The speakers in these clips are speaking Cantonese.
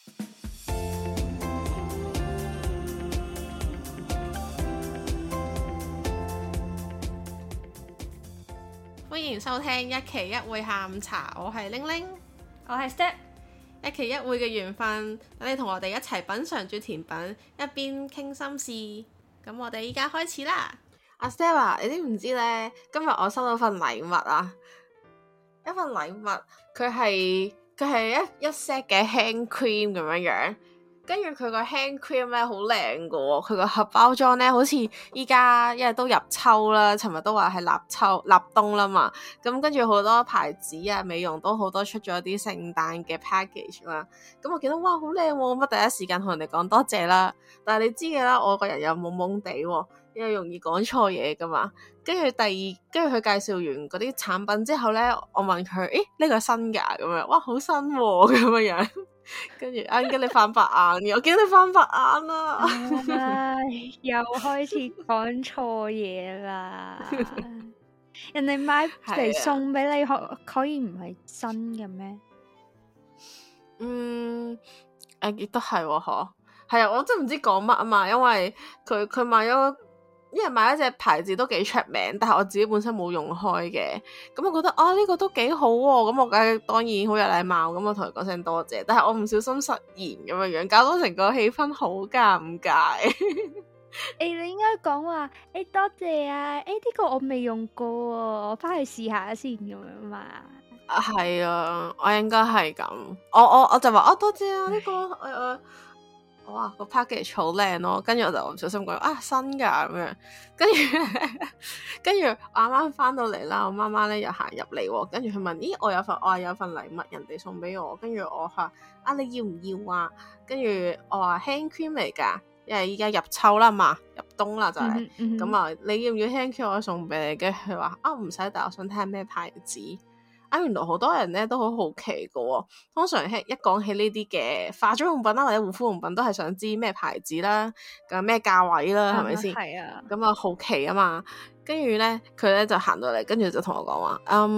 歡迎收聽一期一會下午茶，我係玲玲， 我係 Step， 一期一會嘅緣分，等你同我哋一齊品嚐住甜品，一邊傾心事。咁我哋依家開始啦。阿 Step 啊，你知唔知呢？今日我收到份禮物啊，一份禮物，佢係一 set 嘅 hand cream 咁樣樣。跟住佢個 hand cream 咧好靚噶喎，佢個盒包裝咧好似依家因為都入秋啦，尋日都話係立冬啦嘛，咁跟住好多牌子啊美容都好多出咗啲聖誕嘅 package 啦，咁我見到哇好靚喎，咁啊第一時間同人哋講多謝啦，但係你知嘅啦，我個人又懵懵地喎，又容易講錯嘢噶嘛，跟住佢介紹完嗰啲產品之後咧，我問佢，誒呢個新㗎咁樣，哇好新喎咁樣樣。跟住驚你翻白眼，我驚你翻白眼啦！ 又開始講錯嘢啦！人哋買嚟送俾你，可以唔係新嘅咩？ 亦都係喎，嗬，係啊！我真係唔知講乜啊嘛，因為佢買咗。因為買一隻牌子都幾出名，但係我自己本身冇用開嘅，咁我覺得呢個都幾好喎，咁我梗係當然好有禮貌，咁我同佢講聲多謝，但係我唔小心失言咁樣樣，搞到成個氣氛好尷尬。 你應該講話多謝啊，呢個我未用過，我翻去試下先咁樣嘛。 係啊，我應該係咁，我就話多謝啊，呢個哇個 package 好靚咯，跟住我就唔小心講新噶咁樣，跟住我啱啱翻到嚟啦，我媽媽咧又行入嚟，跟住佢問，咦我有份禮物人哋送俾我，跟住我話你要唔要啊？跟住我話 hand cream 嚟噶，因為依家入秋啦嘛，入冬啦就係，咁啊你要唔要 hand cream 我送俾你？跟住佢話唔使，但我想睇下咩牌子。原來好多人咧都好好奇噶喎，通常一講起呢啲嘅化妝用品啦或者護膚用品，都係想知咩牌子啦，咁咩價位啦，係咪先？係啊。咁啊好奇啊嘛，跟住咧佢咧就行到嚟，跟住就同我講話，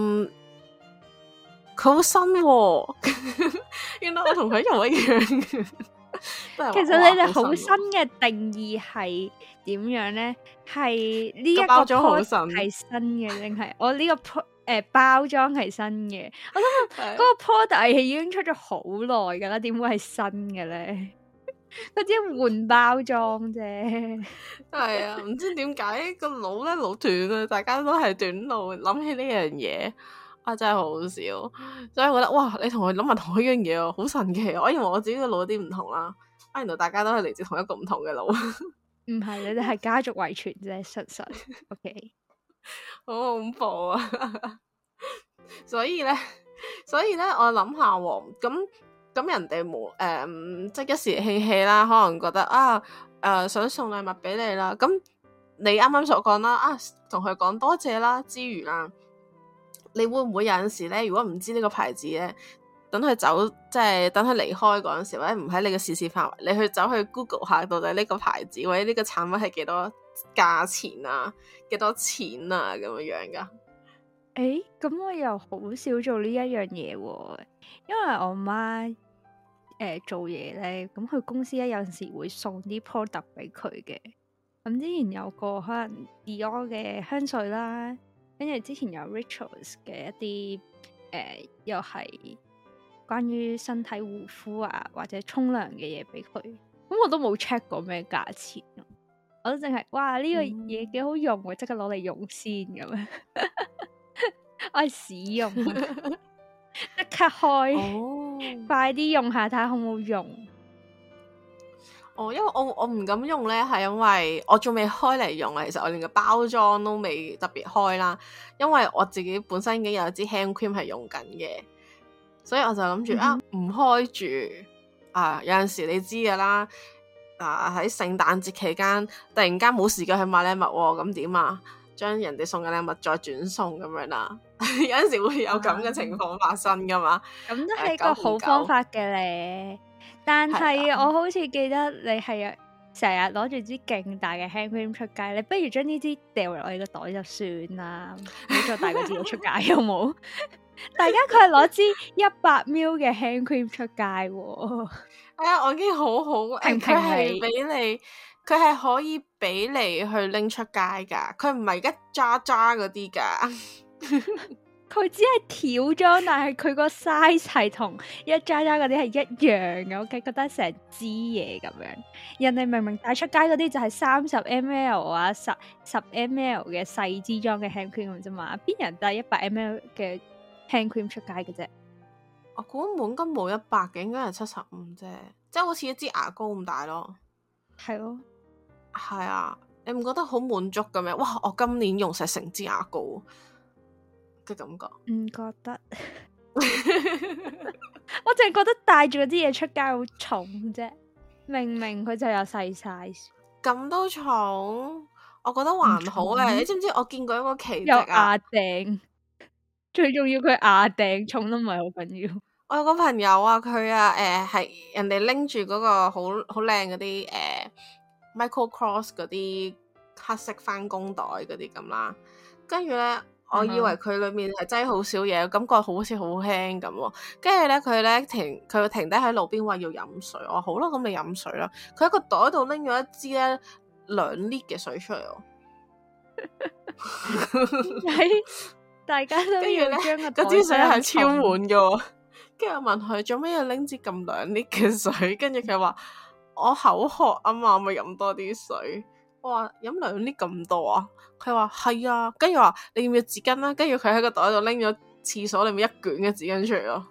佢好新喎，原來我同佢一模一樣。 其實你哋好新嘅定義係點樣咧？係呢一個包裝好新係新嘅，定係我呢個包裝係新嘅？我想問嗰個 product 係已經出咗好耐噶啦，點會係新嘅咧？佢只係換包裝啫。係啊，唔知點解個腦咧腦斷啊！大家都係短路，諗起呢樣嘢真係好笑。所以我覺得哇，你同佢諗埋同一樣嘢哦，好神奇！我以為我自己個腦有啲唔同啦，原來大家都係嚟自同一個唔同嘅腦。 唔係，你哋係家族遺傳啫，實。OK。 好恐怖啊！所以咧，我諗下喎，咁人哋冇即係一時興起啦，可能覺得想送禮物俾你啦。咁你啱啱所講啦，同佢講多謝啦之餘啦，你會唔會有陣時咧，如果唔知呢個牌子咧，等佢走，即係等佢離開嗰陣時，或者唔喺你嘅視線範圍，你去走去 Google 下到底呢個牌子或者呢個產品係幾多價錢啊，幾多錢啊咁樣噶？ 咁我又好少做呢一樣嘢喎，因為我媽做嘢咧，咁佢公司咧有陣時會送啲 product 俾佢嘅。咁之前有個可能 Dior 嘅香水啦，跟住之前有 Rituals 嘅一啲又係關於身體護膚啊或者沖涼嘅嘢俾佢，咁我都冇 check 過咩價錢，我都淨係哇呢個嘢幾好用，即刻攞嚟用先咁樣。我係使用，即刻開，快啲用下睇下好唔好用。 因為我唔敢用咧，係因為我仲未開嚟用啊。其實我連個包裝都未特別開啦，因為我自己本身已經有一支 hand cream 係用緊嘅，所以我就諗住唔開住有陣時你知噶啦，喺聖誕節期間突然間冇時間去買禮物喎，咁點啊？將人哋送嘅禮物再轉送咁樣啦，有陣時會有咁嘅情況發生噶嘛。 咁都係個好方法嘅咧，但係我好似記得你係成日攞住支勁大嘅 hand cream 出街，你不如將呢支掉落你個袋就算啦，唔好再帶個支出街，好冇？ 大家佢係攞支100ml嘅 hand cream 出街喎。 我已經好好，佢係俾你，佢係可以俾你去拎出街噶，佢唔係一揸揸嗰啲噶。 佢只係條裝，但係佢個 size 係同一揸揸嗰啲係一樣嘅，我覺得成支嘢咁樣。人哋明明帶出街嗰啲就係30ml 啊10ml 嘅細支裝嘅 hand cream 啫嘛，邊人帶100ml 嘅 hand cream 出街嘅啫？ 我估滿金冇100嘅，應該係75啫，即係好似一支牙膏咁大咯。 係咯， 係啊，你唔覺得好滿足嘅咩？哇！我今年用晒成支牙膏嘅感覺， 唔覺得？我淨係覺得帶住嗰啲嘢出街好重啫，明明佢就有細 size， 咁都重，我覺得還好嘅。你知唔知我見過一個奇蹟啊？ 有牙頂，最重要佢牙頂重都唔係好緊要。 我有個朋友啊，佢啊係人哋拎住嗰個好靚嗰啲Michael Kors 嗰啲黑色返工袋嗰啲咁啦，跟住咧。我以為佢裏面係擠好少嘢，感覺好似好輕咁。跟住咧，佢停低喺路邊話要飲水。我話好啦，咁你飲水啦。佢喺個袋度拎咗一支咧2 lit 嘅水出嚟。 大家都要將個袋嗰支水係超滿嘅。跟住我問佢做咩要拎支咁2 lit 嘅水？跟住佢話我口渴啊嘛，我咪飲多啲水。我話飲2 lit 咁多啊？佢話係啊，跟住話你要唔要紙巾啦？跟住佢喺個袋度拎咗廁所裏面1卷嘅紙巾出嚟咯。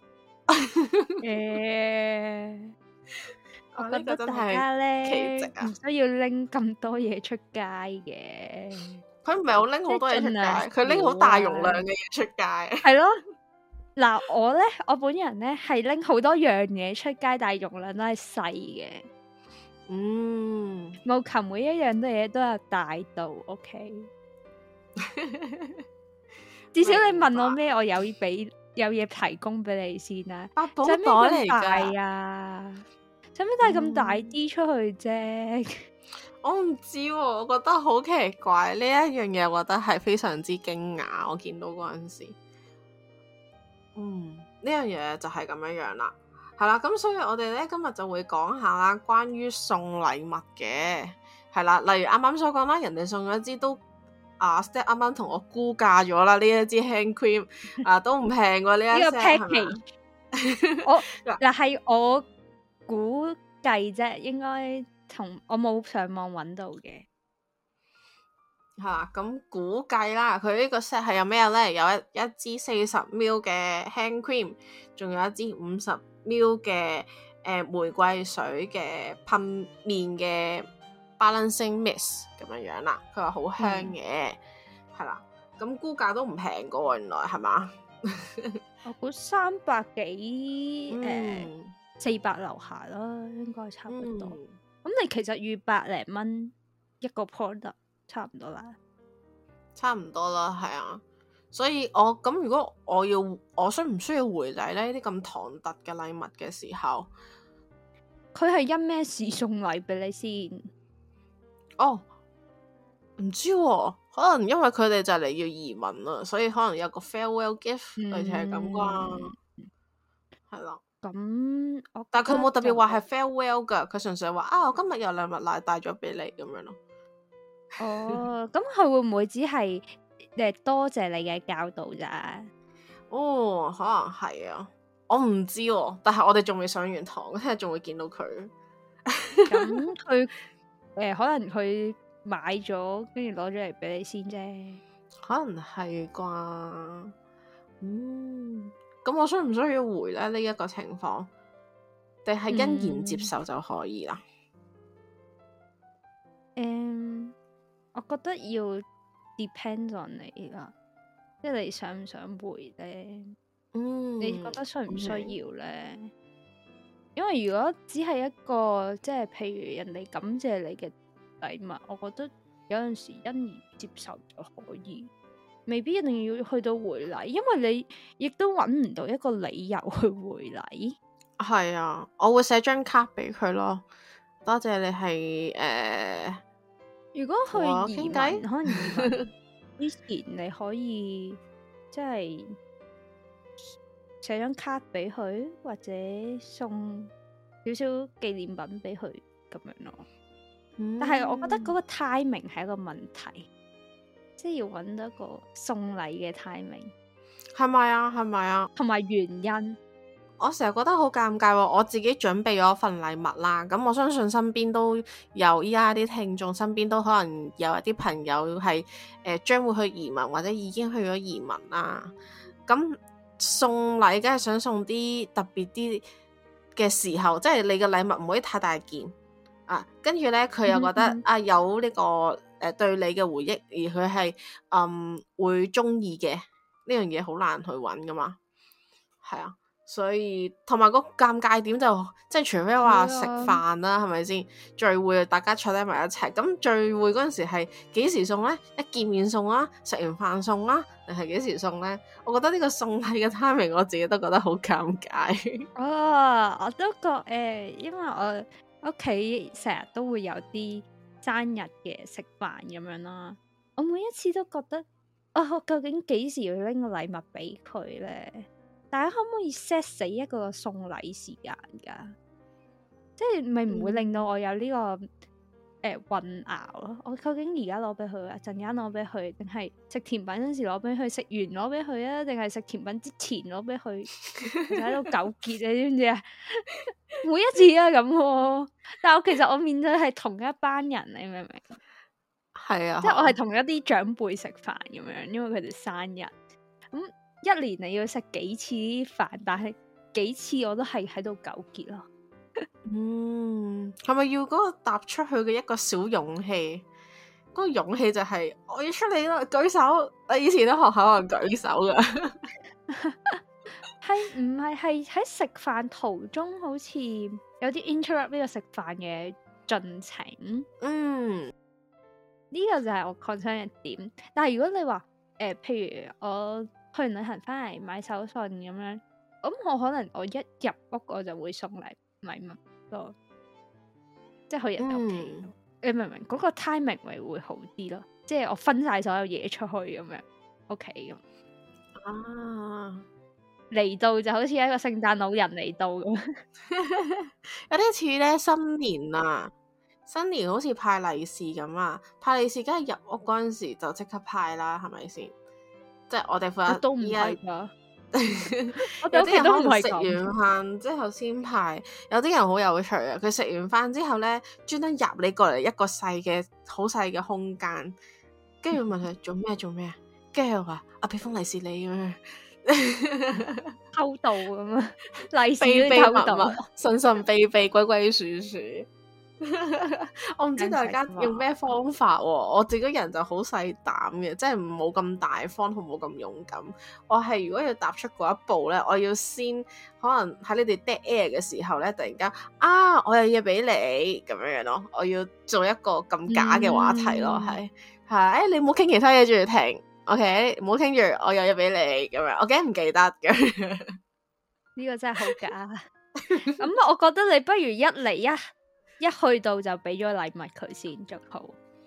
我覺得大家咧唔需要拎咁多嘢出街嘅。 佢唔係好拎好多嘢出街，佢拎好大容量嘅嘢出街。 係咯，嗱我本人咧係拎好多樣嘢出街，但係容量都係細嘅。冇求每一樣嘢都有大度 ，OK。至少你問我咩，我有嘢提供俾你先啦。 百寶袋嚟噶啊，使乜帶咁大啲出去啫？ 我唔知喎，我覺得好奇怪呢一樣嘢，我覺得係非常之驚訝。我見到嗰陣時，呢樣嘢就係咁樣樣啦。係啦，咁所以我哋咧今日就會講下啦，關於送禮物嘅，係啦，例如啱啱所講啦，人哋送咗一支都Step 啱啱同我估價咗啦，呢一支 hand cream 都唔平喎，呢一個 package。 嗱係我估計啫，應該同我冇上網揾到嘅。 係啦，咁估計啦，佢呢個 set 係有咩咧？有一支40ml 嘅 hand cream， 仲有一支50ml 嘅玫瑰水嘅噴面嘅 balancing mist 咁樣樣啦。佢話好香嘅，係啦，咁估價都唔平噶喎，原來係嘛？ 我估300幾400樓下啦，應該差唔多。咁你其實預100零蚊一個 product。差唔多啦， 差唔多啦，係啊，所以我咁如果我需唔需要回禮呢啲咁唐突嘅禮物嘅時候， 佢係因咩事送禮俾你先？ 哦，唔知喎，可能因為佢哋就嚟要移民啦，所以可能有個 farewell gift，類似係咁啩，係啦。 咁但係佢冇特別話係 farewell 噶，佢純粹話我今日有禮物帶咗俾你咁樣咯。 哦，咁佢會唔會只係多謝你嘅教導咋？ 哦，可能係啊，我唔知喎，但係我哋仲未上完堂，聽日仲會見到佢。 咁佢可能佢買咗，跟住攞咗嚟俾你先啫。 可能係啩？咁我需唔需要回咧？呢一個情況，定係欣然接受就可以啦？ 我覺得要 depend on 你啦，即係你想唔想回咧？你覺得需唔需要咧？因為如果只係一個即係譬如人哋感謝你嘅禮物，我覺得有陣時欣然接受就可以，未必一定要去到回禮，因為你亦都揾唔到一個理由去回禮。 係啊，我會寫張卡俾佢咯，多謝你係如果去移民，可能移民之前你可以即係寫張卡俾佢，或者送少少紀念品俾佢咁樣咯。但係我覺得嗰個 timing 係一個問題，即係要揾到一個送禮嘅 timing， 係咪啊？係咪啊？ 同埋原因。 我成日覺得好尷尬喎，我自己準備咗份禮物啦，咁我相信身邊都有，依家啲聽眾身邊都可能有一啲朋友係將會去移民或者已經去咗移民啦。咁送禮梗係想送啲特別啲嘅時候，即係你嘅禮物唔可以太大件啊。跟住呢，佢又覺得有呢個對你嘅回憶，而佢係會中意嘅呢樣嘢，好難去揾噶嘛。係啊。所以同埋個尷尬點就即係除非話食飯啦，係咪先聚會大家坐低埋一齊？咁聚會嗰陣時係幾時送呢？一見面送啦，食完飯送啦，定係幾時送呢？我覺得呢個送禮嘅 timing 我自己都覺得好尷尬。 我都覺因為我屋企成日都會有啲生日嘅食飯咁樣啦，我每一次都覺得我究竟幾時要拎個禮物俾佢呢？大家可唔可以 set 死一個送禮時間噶？即係咪唔會令到我有呢個混淆咯？我究竟而家攞俾佢啊，陣間攞俾佢，定係食甜品嗰時攞俾佢，食完攞俾佢啊？定係食甜品之前攞俾佢？喺度糾結，你知唔知啊？每一次啊咁，但係其實我面對係同一班人，你明唔明？ 係啊， 即係我係同一啲長輩食飯咁樣，因為佢哋生日咁。一年你要食幾次飯，但係幾次我都係喺度糾結咯。 係咪要嗰個踏出去嘅一個小勇氣？嗰個勇氣就係我要出嚟啦，舉手。我以前喺學校可能舉手噶， 係唔係喺食飯途中好似有啲 interrupt 呢個食飯嘅進程？呢個就係我 concern 嘅點。但係如果你話譬如我去完旅行翻嚟買手信咁樣，咁我可能我一入屋我就會送禮物咯，即係去人哋屋企。你明唔明？嗰個 timing 咪會好啲咯，即係我分晒所有嘢出去咁樣屋企咁。嚟到就好似一個聖誕老人嚟到咁， 有啲似咧新年啊！新年好似派利是咁啊，派利是梗係入屋嗰陣時就即刻派啦，係咪先？即係我哋負責都唔係噶， 有啲人可能食完飯之後先派，有啲人好有趣啊！佢食完飯之後咧，專登入你過嚟一個細嘅好細嘅空間，跟住問佢做咩啊？跟住話俾封利是你咁樣， 偷渡咁啊！利是都偷渡， 神神秘秘，鬼鬼祟祟。我唔知大家用咩方法喎，我自己人就好細膽嘅，即係冇咁大方同冇咁勇敢。我係如果要踏出嗰一步咧，我要先可能喺你哋 dead air 嘅時候咧，突然間我有嘢俾你咁樣樣咯，我要做一個咁假嘅話題咯，係你唔好傾其他嘢住停 ，OK， 唔好傾住，我有嘢俾你咁樣，我驚唔記得嘅。 呢個真係好假。咁我覺得你不如一嚟一去到就俾咗禮物佢先仲好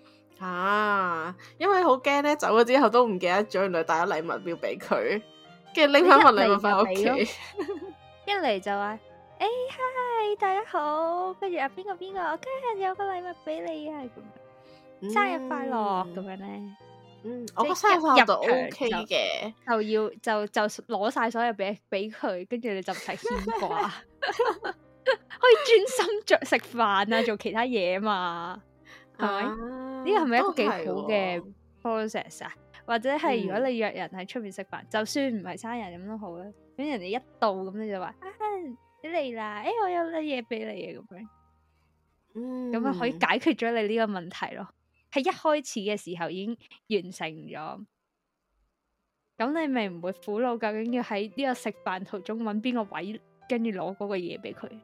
因為好驚咧，走咗之後都唔記得咗，原來帶咗禮物要俾佢，跟住拎翻份禮物翻屋企。 一嚟就話hi 大家好，跟住邊個，我今日有個禮物俾你啊，咁生日快樂咁樣咧。 我覺得生日快樂就 OK 嘅， 就要就攞晒所有俾佢，跟住你就唔使牽掛。可以專心食飯啊，做其他嘢嘛，係咪？呢個係咪一個幾好嘅 process 啊？或者係如果你約人喺出面食飯，就算唔係生日咁都好啦。咁人哋一到咁你就話你嚟啦，我有啲嘢俾你啊，咁樣，咁啊可以解決咗你呢個問題咯。喺一開始嘅時候已經完成咗，咁你咪唔會苦惱究竟要喺呢個食飯途中揾邊個位，跟住攞嗰個嘢俾佢。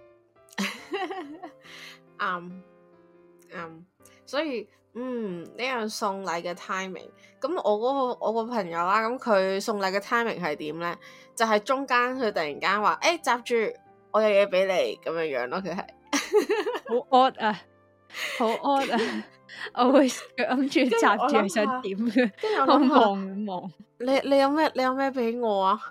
所以呢樣送禮嘅 timing， 咁我個朋友啦，咁佢送禮嘅 timing 係點咧？就係中間佢突然間話閘住，我有嘢俾你咁樣樣咯，佢係好 odd 啊，好 odd 啊！我會諗住閘住想點嘅，我望， 你有咩俾我啊？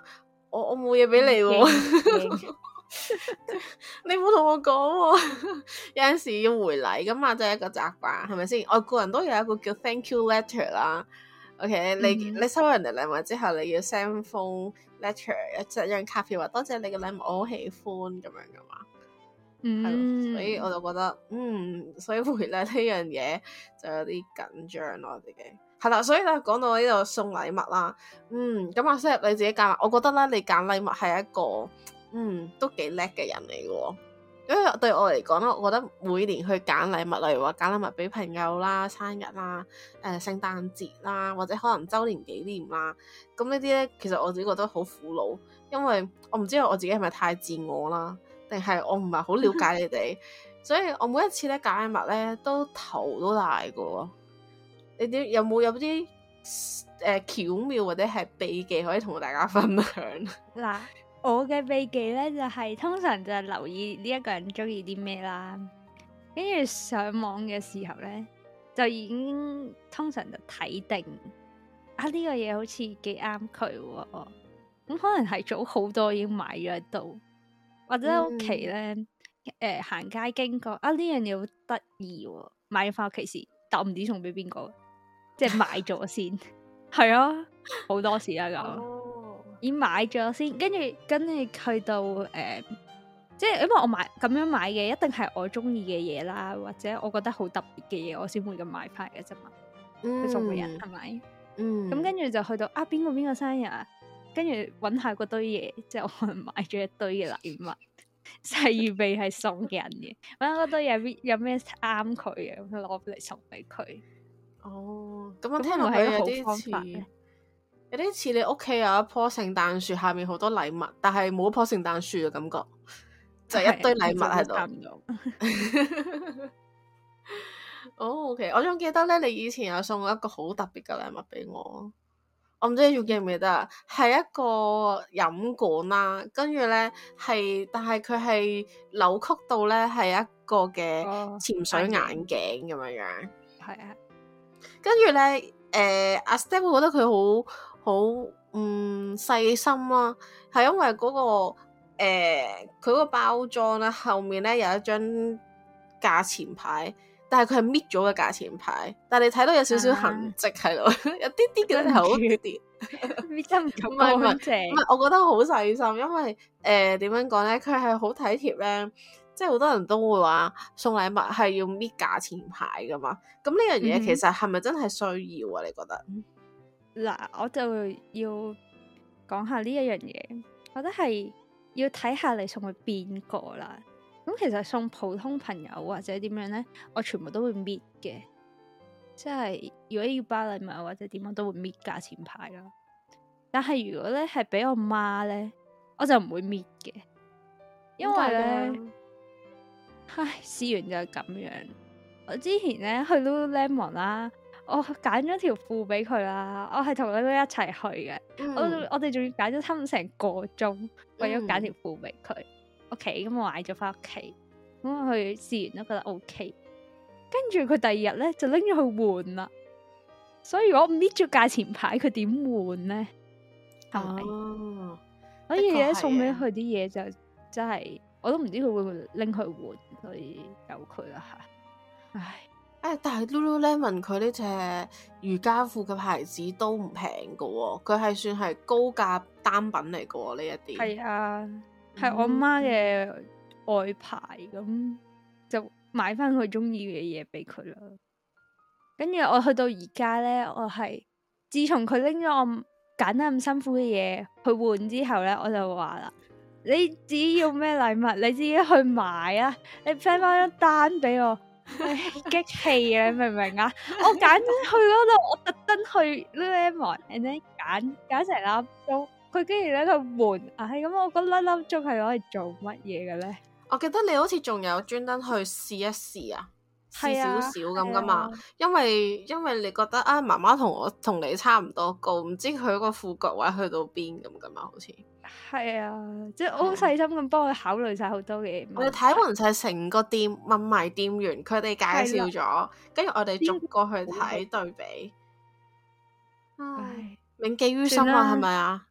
我冇嘢俾你喎。你冇同我講喎。有陣時要回禮噶嘛，就係一個習慣，係咪先？外國人都有一個叫 Thank you letter 啦。OK，你收人哋禮物之後，你要 send 封 letter 一張卡片，話多謝你嘅禮物，我好喜歡咁樣噶嘛。係咯，所以我就覺得，所以回禮呢樣嘢就有啲緊張咯，我自己係啦。所以咧講到呢度送禮物啦，咁阿 Sir 你自己揀，我覺得咧你揀禮物係一個，都幾叻嘅人嚟嘅喎。因為對我嚟講咧，我覺得每年去揀禮物，例如話揀禮物俾朋友啦、生日啦、聖誕節啦，或者可能週年紀念啦，咁呢啲咧，其實我自己覺得好苦惱，因為我唔知道我自己係咪太自我啦，定係我唔係好了解你哋，所以我每一次咧揀禮物咧都頭都大嘅。你哋有啲巧妙或者係秘技可以同大家分享？ 嗱，我嘅秘技咧就係通常就係留意呢一個人中意啲咩啦，跟住上網嘅時候咧就已經通常就睇定呢個嘢好似幾啱佢喎，咁可能係早好多已經買咗喺度，或者喺屋企咧行街經過呢樣嘢好得意喎，買咗翻屋企時，但我唔知送俾邊個，即係買咗先，係啊，好多時啦咁。已經買咗先，跟住去到即係因為我咁樣買嘅，一定係我中意嘅嘢啦，或者我覺得好特別嘅嘢，我先會咁買翻嘅啫嘛。去送俾人係咪？咁跟住就去到邊個生日啊，跟住揾下嗰堆嘢，即係我可能買咗一堆嘅禮物，就係預備係送人嘅。揾下嗰堆嘢有咩啱佢嘅，咁攞嚟送俾佢。 哦，咁我聽落去有啲似你屋企有一棵聖誕樹，下面好多禮物，但係冇一棵聖誕樹嘅感覺，就一堆禮物喺度。OK，我仲記得咧，你以前有送一個好特別嘅禮物俾我，我唔知你仲記唔記得啊？係一個飲管啦，跟住咧但係佢係扭曲到咧係一個嘅潛水眼鏡咁樣樣。係啊，跟住咧阿 Step 會覺得佢好細心啦，係因為嗰個佢嗰個包裝咧後面咧有一張價錢牌，但係佢係搣咗嘅價錢牌，但係你睇到有少少痕跡喺度，有啲啲嘅係好啲， 搣得唔咁乾淨。 唔係，我覺得好細心，因為點樣講咧，佢係好體貼咧，即係好多人都會話送禮物係要搣價錢牌噶嘛，咁呢樣嘢其實係咪真係需要啊？你覺得？ 嗱，我就要講下呢一樣嘢，我覺得係要睇下你送去邊個啦。咁其實送普通朋友或者點樣呢，我全部都會搣嘅，即係如果要包禮物或者點，我都會搣價錢牌啦。但係如果咧係俾我媽呢，我就唔會搣嘅，因為呢，試完就係咁樣。我之前呢去 Lululemon 啦。我揀咗條褲俾佢啦，我係同佢一齊去嘅。我哋仲要揀咗差唔多成個鐘，為咗揀條褲俾佢。OK，咁我買咗翻屋企，咁我去試完都覺得 OK。跟住佢第二日咧就拎咗去換啦。所以如果搣咗價錢牌，佢點換咧？係咪？所以咧送俾佢啲嘢就真係，我都唔知佢會唔會拎去換，所以由佢啦吓。唉。 但係 Lululemon 佢呢隻瑜伽褲嘅牌子都唔平噶喎，佢係算係高價單品嚟噶喎呢一啲。係啊，係我媽嘅外牌，咁就買翻佢中意嘅嘢俾佢啦。跟住我去到而家咧，我係自從佢拎咗我揀得咁辛苦嘅嘢去換之後咧，我就話啦：你自己要咩禮物，你自己去買啊！你 send 翻張單俾我。激氣啊！你明唔明啊？我揀去嗰度，我特登去 Lululemon，and then 揀成粒鐘，佢竟然喺度換，咁我嗰粒鐘係攞嚟做乜嘢嘅咧？ 我記得你好似仲有專登去試一試啊，試少少咁噶嘛，因為你覺得媽媽同你差唔多高，唔知佢個褲腳位去到邊咁噶嘛，好似係啊，即係我好細心咁幫佢考慮晒好多嘢。 我哋睇完晒成個店，問埋店員，佢哋介紹咗，跟住我哋逐個去睇對比。銘記於心啊，係咪啊？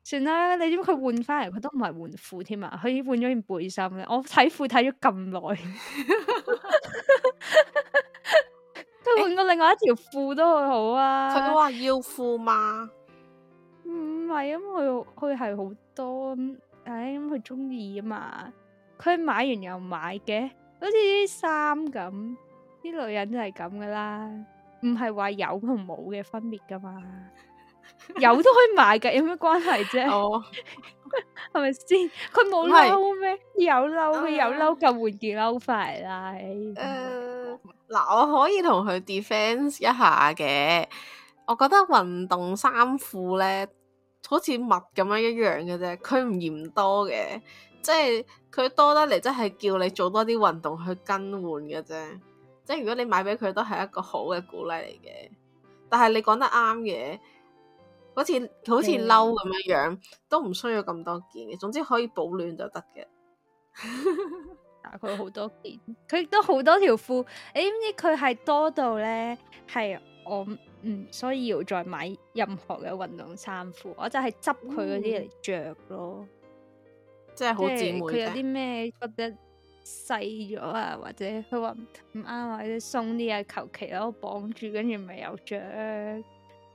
算啦，你知唔知佢換翻嚟佢都唔係換褲添啊，佢換咗件背心咧。我睇褲睇咗咁耐，佢換過另外一條褲都會好啊。 佢話要褲嘛？ 唔係啊，佢係好多咁，咁佢中意啊嘛。佢買完又買嘅，好似啲衫咁，啲女人就係咁噶啦，唔係話有同冇嘅分別噶嘛。有都可以買噶，有咩關係啫？ 哦， 係咪先？佢冇褸咩？有褸，佢有褸就換件褸翻嚟啦。 嗱，我可以同佢 defense 一下嘅。我覺得運動衫褲咧，好似襪咁樣一樣嘅啫，佢唔嫌多嘅，即係佢多得嚟，即係叫你做多啲運動去更換嘅啫。即係如果你買俾佢，都係一個好嘅鼓勵嚟嘅。但係你講得啱嘅。好似褸咁樣，都唔需要咁多件嘅。總之可以保暖就得嘅。 但佢好多件，佢亦都好多條褲。你知唔知佢係多到咧？係我唔需要再買任何嘅運動衫褲，我就係執佢嗰啲嚟着咯。 即係好姊妹。 佢有啲咩覺得細咗啊，或者佢話唔啱，或者鬆啲啊，求其攞綁住，跟住咪有着。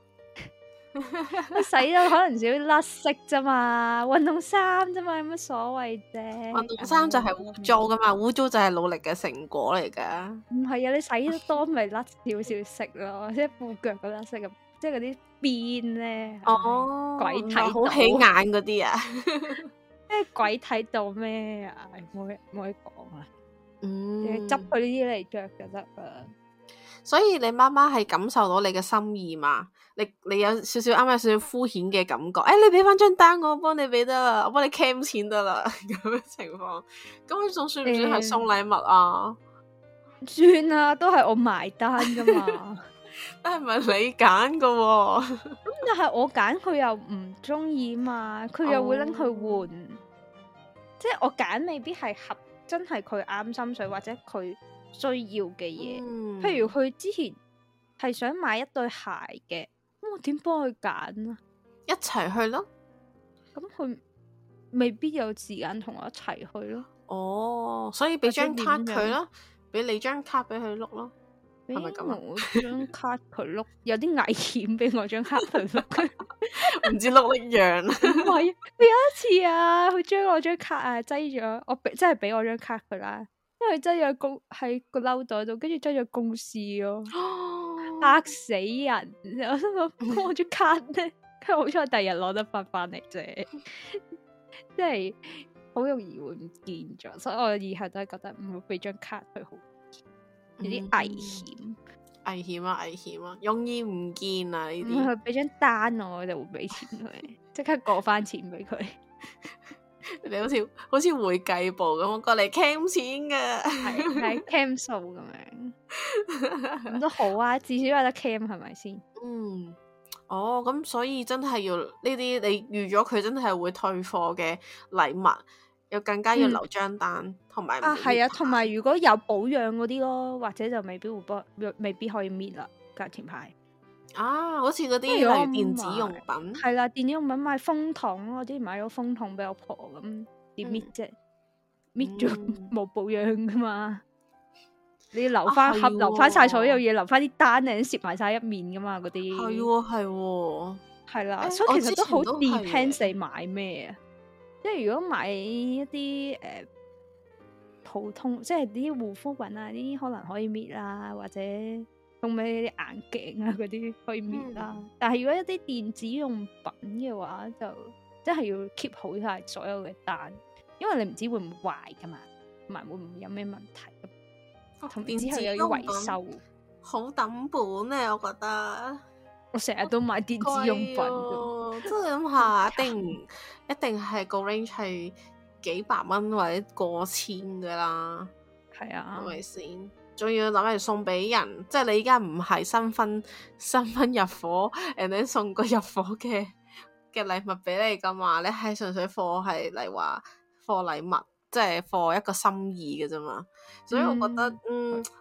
我洗到可能少啲甩色啫嘛，運動衫啫嘛，有乜所謂啫？ 運動衫就係污糟噶嘛，污糟就係努力嘅成果嚟噶。 唔係啊，你洗得多咪甩少少色咯，即係褲腳嗰甩色咁，即係嗰啲邊咧。 哦， 鬼睇到好起眼嗰啲啊！ 即係鬼睇到咩啊？冇可以講啊！執佢呢啲嚟着就得啦。 所以你媽媽係感受到你嘅心意嘛？你有少少啱啱有少少敷衍嘅感覺。你俾翻張單我幫你俾得啦，我幫你 cam 錢得啦咁嘅情況。咁佢仲算唔算係送禮物啊？ 算啦，都係我埋單噶嘛。 但係唔係你揀噶喎？ 咁但係我揀佢又唔中意嘛，佢又會拎去換。即係我揀未必係真係佢啱心水或者佢需要嘅嘢。譬如佢之前係想買一對鞋嘅，咁我點幫佢揀啊？ 一齊去咯。 咁佢未必有時間同我一齊去咯。 哦，所以俾張卡佢咯，俾你張卡俾佢碌咯，係咪咁啊？ 我張卡佢碌有啲危險，俾我張卡佢碌， 唔知碌一樣。 唔係，有一次啊，佢將我張卡啊擠咗，真係俾我張卡佢啦。因為擠咗喺個褸袋度，跟住擠咗公司咯，嚇死人！我心諗我張卡咧，佢好彩第日攞得翻嚟啫，即係好容易會唔見咗，所以我以後都係覺得唔會俾張卡佢好，有啲危險。 危險啊！容易唔見啊呢啲。 佢俾張單我就會俾錢佢，即刻過翻錢俾佢。 你好似會計部咁，我過嚟 cam 錢噶， 係 cam 數咁樣，咁都好啊，至少有得 cam 係咪先？ 咁所以真係要呢啲，你預咗佢真係會退貨嘅禮物，又更加要留張單，同埋係啊，同埋如果有保養嗰啲咯，或者就未必可以搣啦，價錢牌。 好似嗰啲例如電子用品， 係啦，電子用品買風筒，我之前買咗風筒俾我婆咁，點搣啫？搣咗冇保養噶嘛？你要留翻盒，留翻晒所有嘢，留翻啲單，你攝埋晒一面噶嘛？嗰啲係啦，所以其實都好 depends 你買咩啊？即係如果買一啲普通，即係啲護膚品啊，啲可能可以搣啦，或者送俾啲眼鏡啊嗰啲可以搣啦。但係如果一啲電子用品嘅話，就真係要 keep 好晒所有嘅單，因為你唔知會唔會壞噶嘛，同埋會唔會有咩問題。同之後又要維修， 好抌本咧，我覺得。 我成日都買電子用品， 真係諗下，一定係個 range 係幾百蚊或者過千噶啦。 係啊， 係咪先？仲要諗住送俾人，即係你依家唔係新婚入伙，人哋送個入伙嘅禮物俾你噶嘛？你係純粹貨係嚟話貨禮物，即係貨一個心意嘅啫嘛。所以我覺得，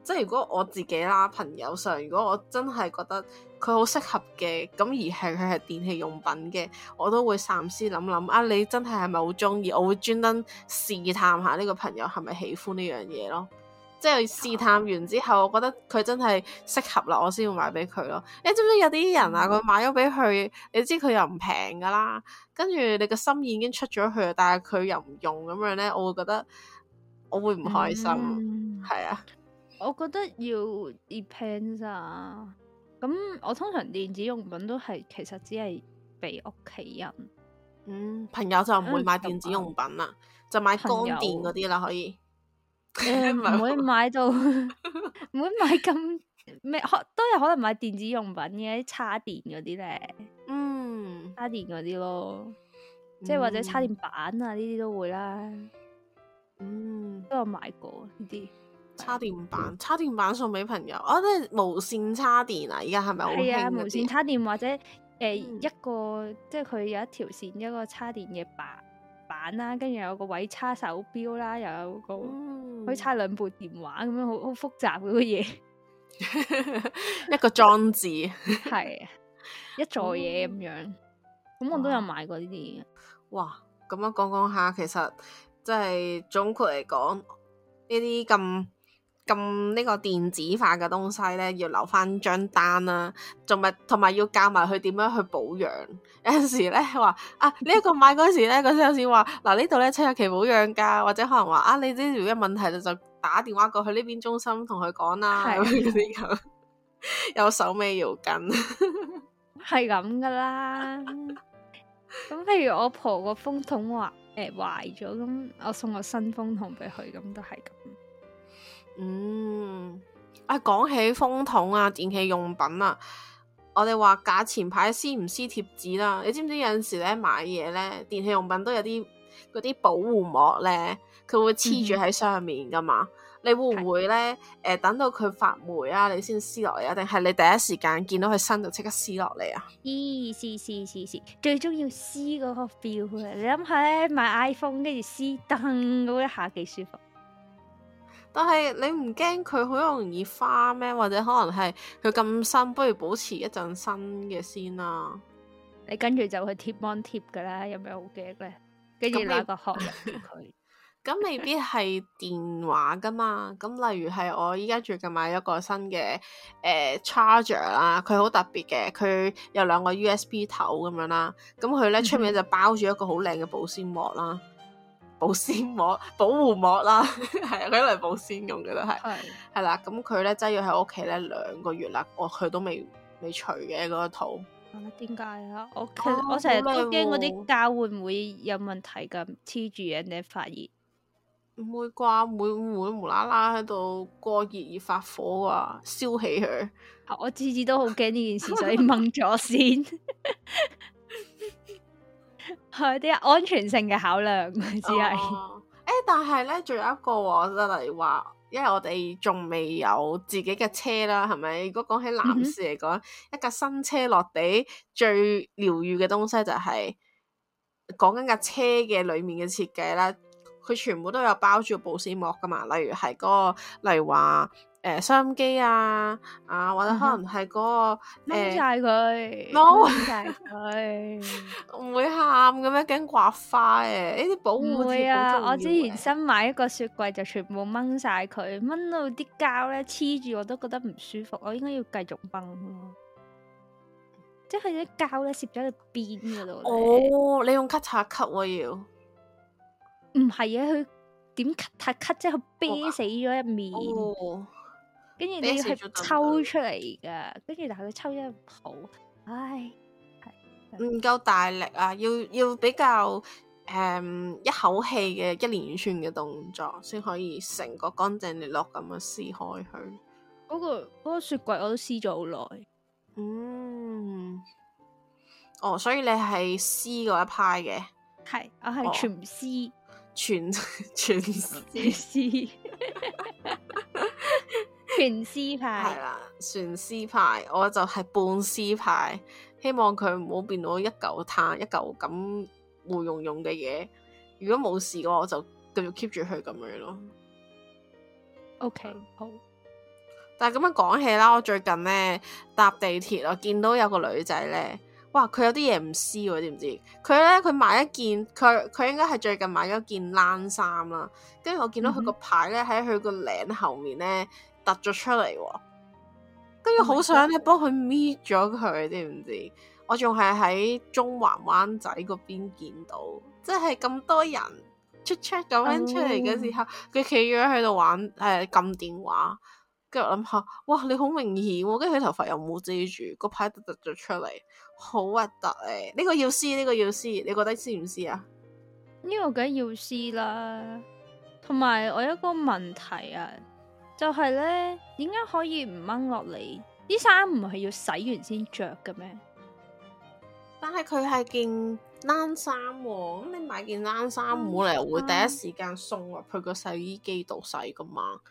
即係如果我自己啦，朋友上，如果我真係覺得佢好適合嘅，咁而佢係電器用品嘅，我都會三思諗諗啊，你真係咪好中意？我會專登試探下呢個朋友係咪喜歡呢樣嘢咯。即係試探完之後，我覺得佢真係適合啦，我先會買俾佢咯。你知唔知有啲人啊，佢買咗俾佢，你知佢又唔平噶啦，跟住你個心意已經出咗去，但係佢又唔用咁樣咧，我會覺得我會唔開心。係啊， 我覺得要 depends 啊。咁我通常電子用品都係其實只係俾屋企人。 朋友就唔會買電子用品啦，就買乾電嗰啲啦，可以。 唔會買到，唔會買咁咩，都有可能買電子用品嘅，啲叉電嗰啲咧，叉電嗰啲咯，即係或者叉電板啊呢啲都會啦，都有買過呢啲叉電板送俾朋友，即係無線叉電啊！而家係咪好興？係啊， 無線叉電或者一個即係佢有一條線一個叉電嘅板啦，跟住有個位叉手錶啦，又有個可以叉兩部電話咁樣，好複雜嗰個嘢， 一個裝置係一座嘢咁樣。咁我都有買過呢啲。 哇！咁樣講下，其實即係總括嚟講，呢啲咁呢個電子化嘅東西咧，要留翻張單啦，同埋要教埋佢點樣去保養。有陣時咧話啊，呢一個買嗰時咧，個 sales 話嗱呢度咧7日期保養噶，或者可能話啊，你呢條嘅問題就打電話過去呢邊中心同佢講啦，嗰啲咁有手尾要跟， 係咁噶啦。咁譬如我婆個風筒壞咗，咁我送個新風筒俾佢，咁都係咁。 講起風筒啊，電器用品啊，我哋話價錢牌撕唔撕貼紙啦？你知唔知有陣時咧買嘢咧，電器用品都有啲嗰啲保護膜咧，佢會黐住喺上面噶嘛？你會唔會咧等到佢發霉啊，你先撕落嚟啊？定係你第一時間見到佢新就即刻撕落嚟啊？ 撕，最中意撕嗰個 feel 啊！你諗下咧，買 iPhone 跟住撕燈嗰一下幾舒服。 但係你唔驚佢好容易花咩？或者可能係佢咁新，不如保持一陣新嘅先啦。 你跟住就去貼芒貼噶啦，有咩好驚咧？跟住拿個殼入俾佢。 咁未必係電話噶嘛？咁例如係我依家最近買咗個新嘅charger 啦，佢好特別嘅，佢有2個 USB 頭咁樣啦。咁佢咧出面就包住一個好靚嘅保鮮膜啦。保護膜啦，係啊，佢嚟保鮮用嘅都係啦。咁佢咧擠咗喺屋企咧2個月啦，佢都未除嘅嗰個套。 點解啊？我成日都驚嗰啲膠會唔會有問題咁黐住人哋發熱？ 唔會啩？唔會無啦啦喺度過熱而發火啊，燒起佢。 我次次都好驚呢件事，所以掹咗先。係啲安全性嘅考量，只係但係咧，仲有一個就例如話，因為我哋仲未有自己嘅車啦，係咪？如果講起男士嚟講，一架新車落地最療癒嘅東西就係講緊架車嘅裏面嘅設計啦，佢全部都有包住保鮮膜噶嘛，例如係嗰個，例如話收音機啊，或者可能係嗰個掹晒佢， 掹晒佢， 唔會喊咁樣驚刮花嘅，呢啲保護唔會啊！ 我之前新買一個雪櫃就全部掹晒佢，掹到啲膠咧黐住我都覺得唔舒服，我應該要繼續掹咯。即係佢啲膠咧攝咗喺邊嗰度。 哦，你用 cutter cut 喎要？ 唔係啊，佢點 cut 即係佢啤死咗一面。跟住你要係抽出嚟噶，跟住但係佢抽得唔好，唉， 唔夠大力啊！要比較一口氣嘅一連串嘅動作，先可以成個乾淨利落咁樣撕開佢。 嗰個雪櫃我都撕咗好耐。 所以你係撕嗰一派嘅？ 係，我係全撕， 全撕。 全撕派係啦，全撕派，我就係半撕派，希望佢唔好變到一嚿炭一嚿咁糊溶溶嘅嘢。如果冇事嘅話，我就繼續 keep 住佢咁樣咯。 OK，好。 但係咁樣講起啦，我最近咧搭地鐵，我見到有個女仔咧，哇！佢有啲嘢唔知喎，知唔知？佢買一件，佢應該係最近買咗件冷衫啦。跟住我見到佢個牌咧喺佢個領後面咧突咗出嚟喎。跟住好想咧幫佢搣咗佢，知唔知？我仲係喺中環灣仔嗰邊見到，即係咁多人出咁樣出嚟嘅時候，佢企咗喺度玩撳電話。跟住我諗下，哇！你好明顯喎，跟住佢頭髮又冇遮住，個牌突咗出嚟，好核突誒！呢個要撕，呢個要撕，你覺得撕唔撕啊？ 呢個梗係要撕啦。同埋我有一個問題啊，就係咧，點解可以唔掹落嚟？啲衫唔係要洗完先着嘅咩？ 但係佢係件冷衫喎，咁你買件冷衫冇理由會第一時間送入去個洗衣機度洗噶嘛？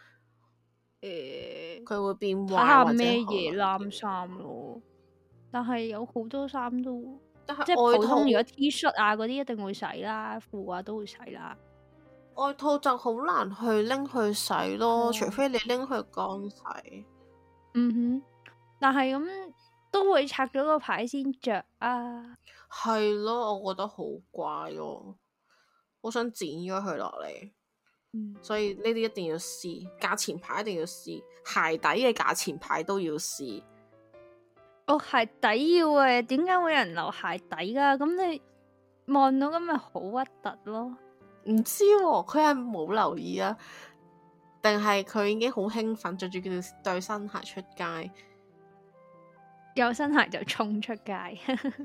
佢會變壞，睇下咩嘢冷衫咯。但係有好多衫都，即係普通如果 T 恤啊嗰啲一定會洗啦，褲啊都會洗啦。 外套就好難去拎去洗咯，除非你拎去乾洗。 但係咁都會拆咗個牌先着啊。 係咯，我覺得好怪咯，好想剪咗佢落嚟。所以呢啲一定要試，價錢牌一定要試，鞋底嘅價錢牌都要試。 鞋底要嘅，點解會有人留鞋底噶？咁你望到咁咪好核突咯？ 唔知喎，佢係冇留意啊，定係佢已經好興奮，着住對新鞋出街， 有新鞋就衝出街，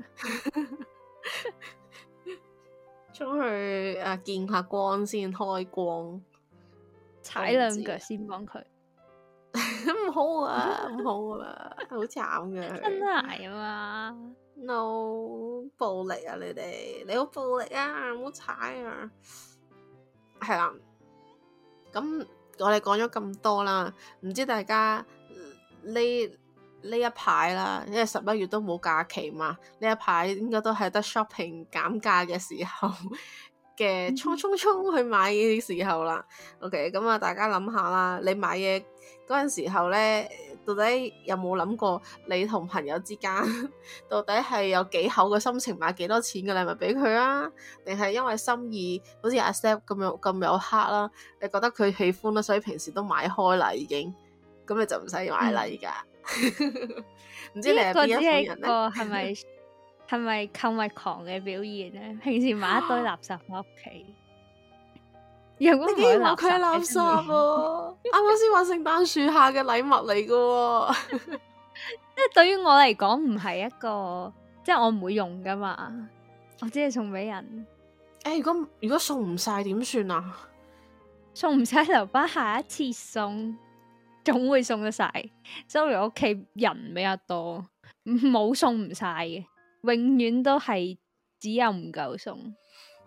衝去見下光先，開光， 踩兩腳先幫佢。 唔好啊，唔好啊，好慘嘅。 新鞋啊嘛 ，no 暴力啊！你好暴力啊！唔好踩啊！係啦，咁我哋講咗咁多啦，唔知大家呢一排啦，因為11月都冇假期嘛，呢一排應該都係得 shopping 減價嘅時候嘅衝去買嘢嘅時候啦。OK， 咁啊，大家諗下啦，你買嘢嗰陣時候咧，到底有冇諗過你同朋友之間到底係有幾厚嘅心情買幾多錢嘅禮物俾佢啊？定係因為心意好似阿 Step 咁有黑啦，你覺得佢喜歡啦，所以平時都買開啦已經，咁你就唔使買啦而家。唔知你係邊一款人咧？ 係咪購物狂嘅表現咧？平時買一堆垃圾翻屋企，你竟然話佢係垃圾啊！啱啱先話聖誕樹下嘅禮物嚟噶， 即係對於我嚟講唔係一個，即係我唔會用噶嘛，我只係送俾人。 如果送唔晒點算啊？ 送唔晒留翻下一次送，總會送得晒。所以我屋企人比較多，冇送唔晒嘅。永遠都係只有唔夠送。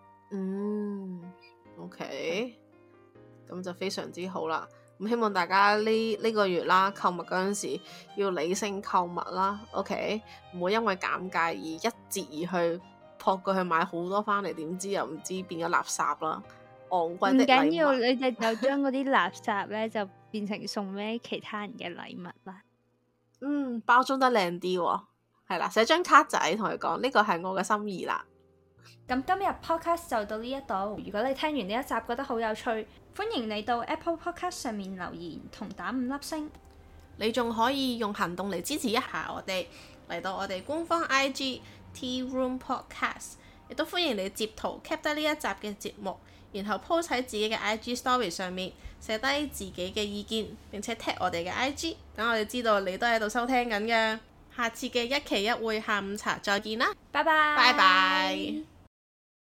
OK， 咁就非常之好啦。咁希望大家呢個月啦，購物嗰陣時要理性購物啦。OK，唔好因為減價而一折而去撲過去買好多翻嚟，點知又唔知變咗垃圾啦。昂貴的禮物。唔緊要， 你哋就將嗰啲垃圾咧就變成送俾其他人嘅禮物啦。 包裝得靚啲喎。係啦，寫張卡仔同佢講呢個係我嘅心意啦。 咁今日 podcast 就到呢一度。如果你聽完呢一集覺得好有趣，歡迎你到 Apple Podcast 上面留言同打5粒星。 你仲可以用行動嚟支持一下我哋，嚟到我哋官方 IG Tea Room Podcast， 亦都歡迎你截圖 cap 低呢一集嘅節目，然後 post 喺自己嘅 IG Story 上面寫低自己嘅意見，並且 tag 我哋嘅 IG， 等我哋知道你都喺度收聽緊嘅。下次嘅一期一會下午茶再見啦， 拜拜。 拜拜。